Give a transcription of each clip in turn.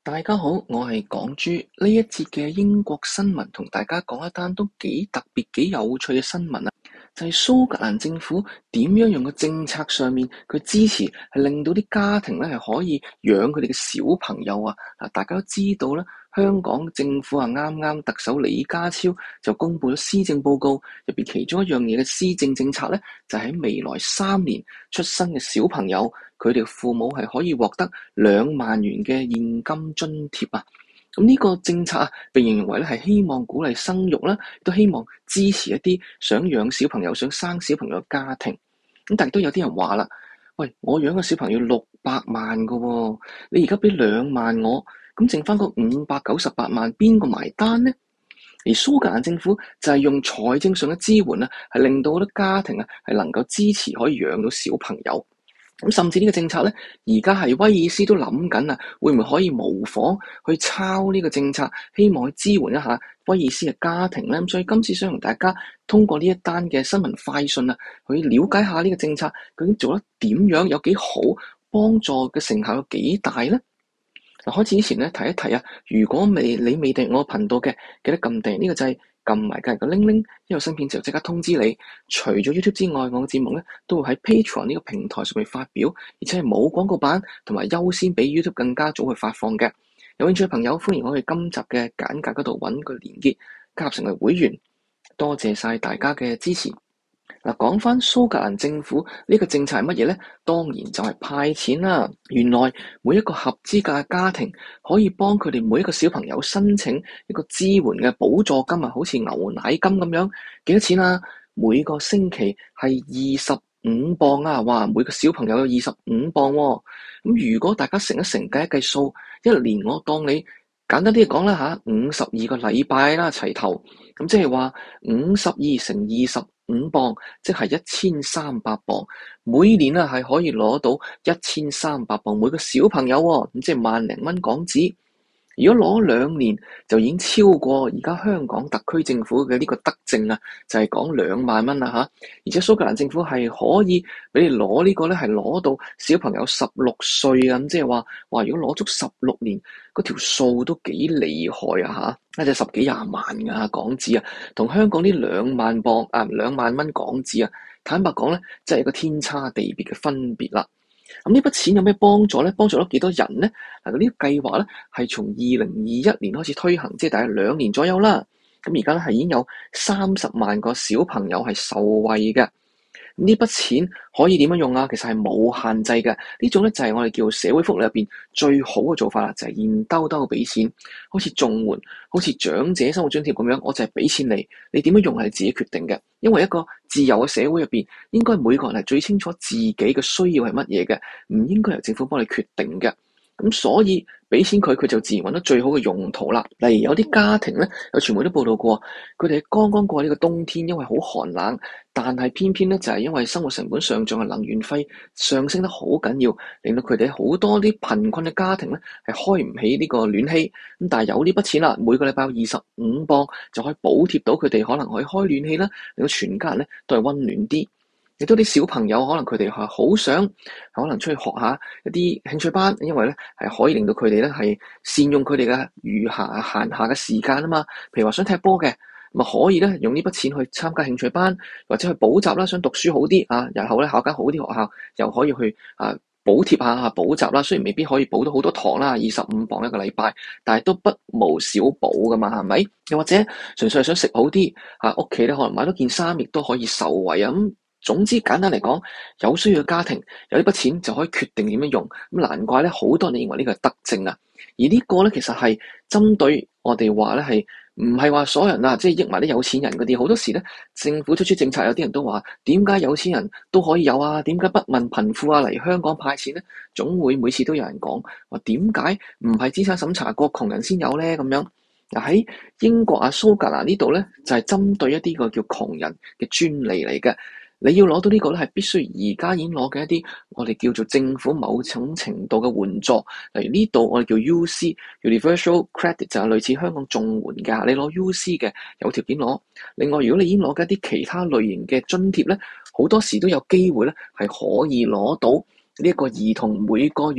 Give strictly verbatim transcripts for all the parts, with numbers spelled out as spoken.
大家好，我係港豬。呢一節嘅英國新聞同大家講一單都幾特別、幾有趣嘅新聞啊！就係蘇格蘭政府點樣用個政策上面佢支持，係令到啲家庭咧係可以養佢哋嘅小朋友啊！嗱，大家都知道啦，香港政府啊啱啱特首李家超就公布咗施政報告，入邊其中一樣嘢嘅施政政策咧，就係喺未來三年出生嘅小朋友，佢哋父母係可以獲得兩萬元嘅現金津貼啊！咁呢個政策啊，被形容為咧係希望鼓勵生育啦，都希望支持一啲想養小朋友、想生小朋友嘅家庭。咁但係都有啲人話啦，喂，我養個小朋友六百萬噶喎，你而家俾兩萬我，咁剩翻個五百九十八萬，邊個埋單呢？而蘇格蘭政府就係用財政上嘅支援啊，係令到好多家庭啊係能夠支持可以養到小朋友。咁甚至呢個政策咧，而家係威爾斯都諗緊啊，會唔會可以模仿去抄呢個政策，希望去支援一下威爾斯嘅家庭咧？咁所以今次想同大家通過呢一單嘅新聞快訊啊，去了解下呢個政策究竟做得點樣，有幾好，幫助嘅成效有幾大咧？嗱，開始之前咧，提一提啊，如果未你未訂我頻道嘅，記得撳訂呢個掣。撳埋隔籬個鈴鈴，一有新片就即刻通知你。除咗 YouTube 之外，我嘅節目咧都會喺 Patreon 呢個平台上面發表，而且係冇廣告版，同埋優先比 YouTube 更加早去發放嘅。有興趣嘅朋友，歡迎我去今集嘅簡介嗰度揾個連結，加入成為會員。多謝晒大家嘅支持。嗱，講翻蘇格蘭政府呢個政策係乜嘢呢？當然就係派錢啦。原來每一個合資格嘅家庭可以幫佢哋每一個小朋友申請一個支援嘅補助金啊，好似牛奶金咁樣。幾多錢啊？每個星期係二十五磅啊！哇，每個小朋友有二十五磅喎。咁如果大家乘一乘計一計數，一年我當你簡單啲嚟講啦吓，五十二個禮拜啦齊頭，咁即係話五十二乘二十五磅，即係一千三百磅。每年啊係可以攞到一千三百磅每個小朋友喎，咁即係萬零蚊港紙。如果攞兩年就已經超過而家香港特區政府嘅呢個德政啊，就係講兩萬蚊啦吓。而且蘇格蘭政府係可以俾你攞呢個咧，係攞到小朋友十六歲啊，咁即係話話如果攞足十六年，嗰條數都幾厲害啊吓，一隻十幾廿萬噶港紙啊，同香港呢兩萬磅啊兩萬蚊港紙啊，坦白講咧，真係一個天差地別嘅分別啦。咁呢筆錢有咩幫助咧？幫助咗幾多人咧？嗱，呢個計劃咧係從二零二一年開始推行，即係大概兩年左右啦。咁而家咧係已經有三十萬個小朋友係受惠嘅。呢筆錢可以點樣用啊？其實係冇限制嘅。呢種咧就係我哋叫社會福利入邊最好嘅做法啦，就係現兜兜俾錢，好似綜援、好似長者生活津貼咁樣，我就係俾錢你，你點樣用係自己決定嘅。因為一個自由嘅社會入邊，應該每個人係最清楚自己嘅需要係乜嘢嘅，唔應該由政府幫你決定嘅。咁所以俾錢佢，佢就自然揾到最好嘅用途啦。例如有啲家庭咧，有傳媒都報道過，佢哋剛剛過呢個冬天，因為好寒冷，但係偏偏咧就係因為生活成本上漲嘅能源費上升得好緊要，令到佢哋好多啲貧困嘅家庭咧係開唔起呢個暖氣。咁但係有呢筆錢啦，每個禮拜有二十五磅就可以補貼到佢哋，可能可以開暖氣啦，令到全家人咧都係溫暖啲。亦都啲小朋友可能佢哋係好想可能出去學下一啲興趣班，因為咧係可以令到佢哋咧係善用佢哋嘅餘下閒暇嘅時間啊嘛。譬如話想踢波嘅，咪可以咧用呢筆錢去參加興趣班，或者去補習啦，想讀書好啲啊，日後咧考間好啲學校，又可以去啊補貼下補習啦。雖然未必可以補到好多堂啦，二十五磅一個禮拜，但係都不無小補噶嘛，係咪？又或者純粹係想食好啲啊，屋企咧可能買多件衫，亦都可以受惠啊咁。總之簡單嚟講，有需要嘅家庭有呢筆錢就可以決定點樣用，咁難怪咧好多人認為呢個係德政啊。而呢個咧其實係針對我哋話咧係唔係話所有人啊，即係益埋啲有錢人嗰啲。好多時咧政府推出政策，有啲人都話點解有錢人都可以有啊？點解不問貧富啊嚟香港派錢咧？總會每次都有人講話點解唔係資產審查過窮人先有咧咁樣。嗱，喺英國啊蘇格蘭呢度咧就係針對一啲個叫窮人嘅專利嚟嘅。你要攞到呢個咧，係必須而家已經攞嘅一啲我哋叫做政府某種程度嘅援助。例如呢度我哋叫 U C（Universal Credit） 就係類似香港綜援㗎。你攞 U C 嘅有條件攞。另外，如果你已經攞緊一啲其他類型嘅津貼咧，好多時都有機會咧係可以攞到呢一個兒童每個月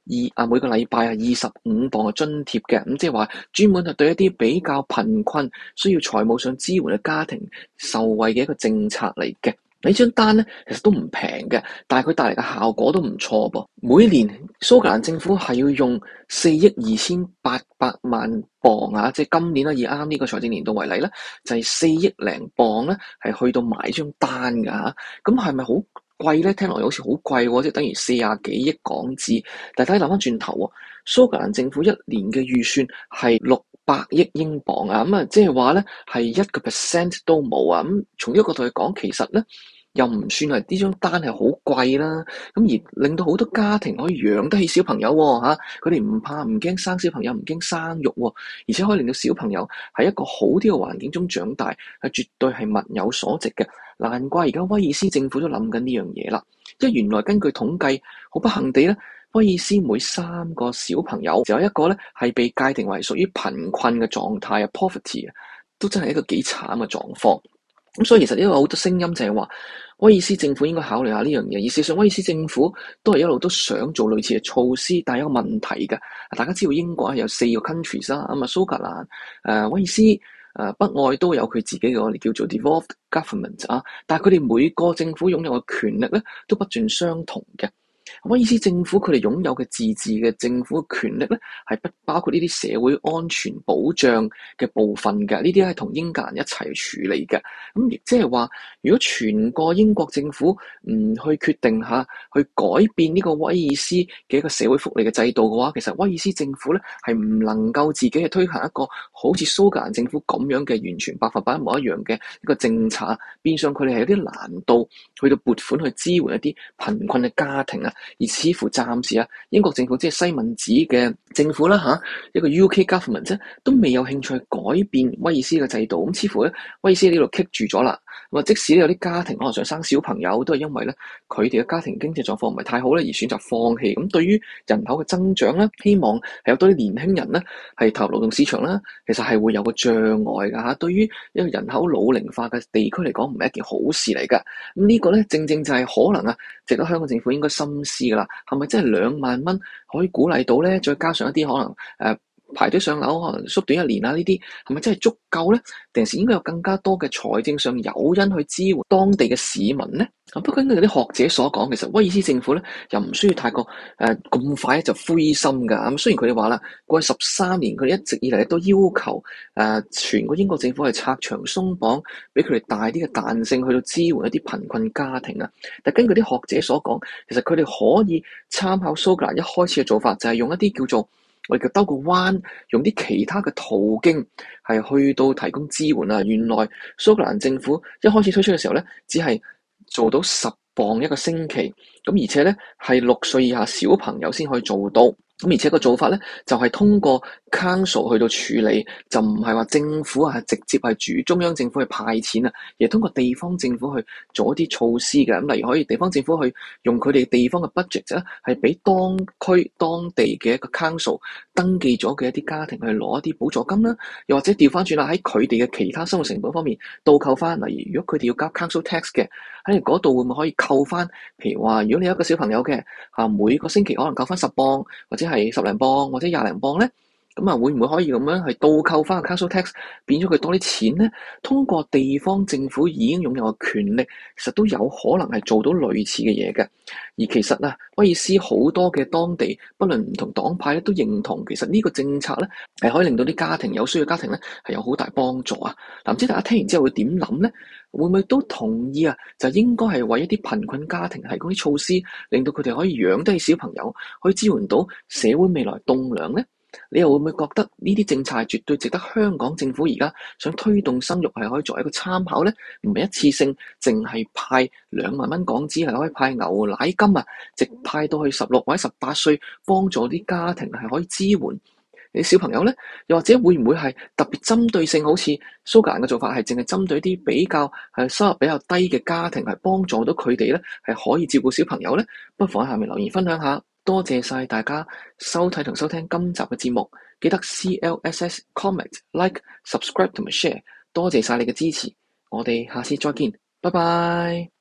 二啊每個禮拜啊二十五磅嘅津貼嘅，咁即係話專門係對一啲比較貧困、需要財務上支援嘅家庭受惠嘅一個政策嚟嘅。呢張單咧其實都唔平嘅，但係佢帶嚟嘅效果都唔錯噃。每年蘇格蘭政府係要用四億二千八百萬磅啊，即係今年啦，以啱呢個財政年度為例咧，就係四億零磅咧，係去到買張單㗎嚇。咁係咪好貴咧？聽落好似好貴喎，即係等於四廿幾億港紙。但係睇諗翻轉頭喎，蘇格蘭政府一年嘅預算係六百億英鎊啊，咁啊，即係話咧係一個 percent 都冇啊。咁從呢個角度去講，其實咧又唔算係呢張單係好貴啦。咁而令到好多家庭可以養得起小朋友喎嚇，佢哋唔怕唔驚生小朋友，唔驚生育喎，而且可以令到小朋友喺一個好啲嘅環境中長大，係絕對係物有所值嘅。難怪而家威爾斯政府都諗緊呢樣嘢啦，因為原來根據統計，好不幸地咧，威爾斯每三個小朋友就有一個咧係被界定為屬於貧困嘅狀態啊 ，poverty 啊，都真係一個幾慘嘅狀況。咁所以其實呢個好多聲音就係話，威爾斯政府應該考慮下呢樣嘢。而事實上，威爾斯政府都係一路都想做類似嘅措施，但係有個問題嘅。大家知道英國係有四個 countries 啦，咁啊蘇格蘭、誒、呃、威爾斯、誒、呃、北愛都有佢自己嘅我哋叫做 devolved government 啊，但係佢哋每個政府擁有嘅權力咧都不盡相同嘅。威爾斯政府佢哋擁有嘅自治嘅政府嘅權力咧，係不包括呢啲社會安全保障嘅部分嘅，呢啲係同英格蘭一齊處理嘅。咁亦即係話，如果全個英國政府唔去決定下去改變呢個威爾斯嘅一個社會福利嘅制度嘅話，其實威爾斯政府咧係唔能夠自己去推行一個好似蘇格蘭政府咁樣嘅完全百分百一模一樣嘅一個政策，變相佢哋係有啲難度去到撥款去支援一啲貧困嘅家庭啊。而似乎暫時啊，英國政府即係西敏寺嘅政府啦嚇，一個 U K government 啫，都未有興趣改變威爾斯嘅制度。咁似乎咧，威爾斯呢度棘住咗啦。咁啊，即使有啲家庭可能想生小朋友，都係因為咧佢哋嘅家庭經濟狀況唔係太好咧，而選擇放棄。咁對於人口嘅增長咧，希望係有多啲年輕人咧係投入勞動市場啦，其實係會有個障礙㗎嚇。對於一個人口老齡化嘅地區嚟講，唔係一件好事嚟㗎。咁呢個咧正正就係可能啊，值得香港政府應該深思㗎啦。係咪真係兩萬蚊可以鼓勵到咧？再加上一啲可能誒、呃、排隊上樓，可能縮短一年啊，呢啲係咪真係足夠咧？定係應該有更加多嘅財政上誘因去支援當地嘅市民咧？不過根據啲學者所講，其實威爾斯政府咧又唔需要太過誒咁、呃、快就灰心㗎。咁雖然佢哋話啦，過去十三年佢哋一直以嚟都要求誒、呃、全個英國政府係拆牆鬆綁，俾佢哋大啲嘅彈性去到支援一啲貧困家庭啊。但根據啲學者所講，其實佢哋可以參考蘇格蘭一開始嘅做法，就係、是、用一啲叫做我哋叫兜個彎，用啲其他嘅途徑係去到提供支援啊。原來蘇格蘭政府一開始推出嘅時候咧，只係做到十磅一個星期，咁而且咧係六歲以下小朋友先可以做到。咁而且個做法咧，就係、是、通過 council 去到處理，就唔係話政府啊，直接係主中央政府去派錢啊，而係通過地方政府去做一啲措施嘅。咁例如可以地方政府去用佢哋地方嘅 budget 咧，係俾當區當地嘅一個 council 登記咗嘅一啲家庭去攞一啲補助金啦，又或者調翻轉啦，喺佢哋嘅其他生活成本方面倒扣翻。例如如果佢哋要交 council tax 嘅，喺嗰度會唔會可以扣翻？譬如話，如果你有一個小朋友嘅啊，每個星期可能扣翻十磅或者係十零磅或者廿零磅咧，咁啊會唔會可以咁樣係倒扣翻個 council tax，變咗佢多啲錢咧？通過地方政府已經擁有嘅權力，其實都有可能係做到類似嘅嘢嘅。而其實啊，威爾斯好多嘅當地，不論唔同黨派咧，都認同其實呢個政策咧係可以令到啲家庭有需要嘅家庭咧係有好大幫助啊！嗱，唔知大家聽完之後會點諗咧？會唔會都同意啊？就應該係為一啲貧困家庭提供啲措施，令到佢哋可以養得起小朋友，可以支援到社會未來棟梁咧？你又會唔會覺得呢啲政策係絕對值得香港政府而家想推動生育係可以作為一個參考咧？唔係一次性，淨係派兩萬蚊港紙係可以派牛奶金啊，直派到去十六或者十八歲，幫助啲家庭係可以支援你小朋友咧？又或者會唔會係特別針對性，好似蘇格蘭嘅做法係淨係針對啲比較係收入比較低嘅家庭，係幫助到佢哋咧係可以照顧小朋友咧？不妨喺下面留言分享下。多謝晒大家收睇同收聽今集嘅節目，記得 C L S S comment like subscribe 同埋 share。多謝晒你嘅支持，我哋下次再見，拜拜。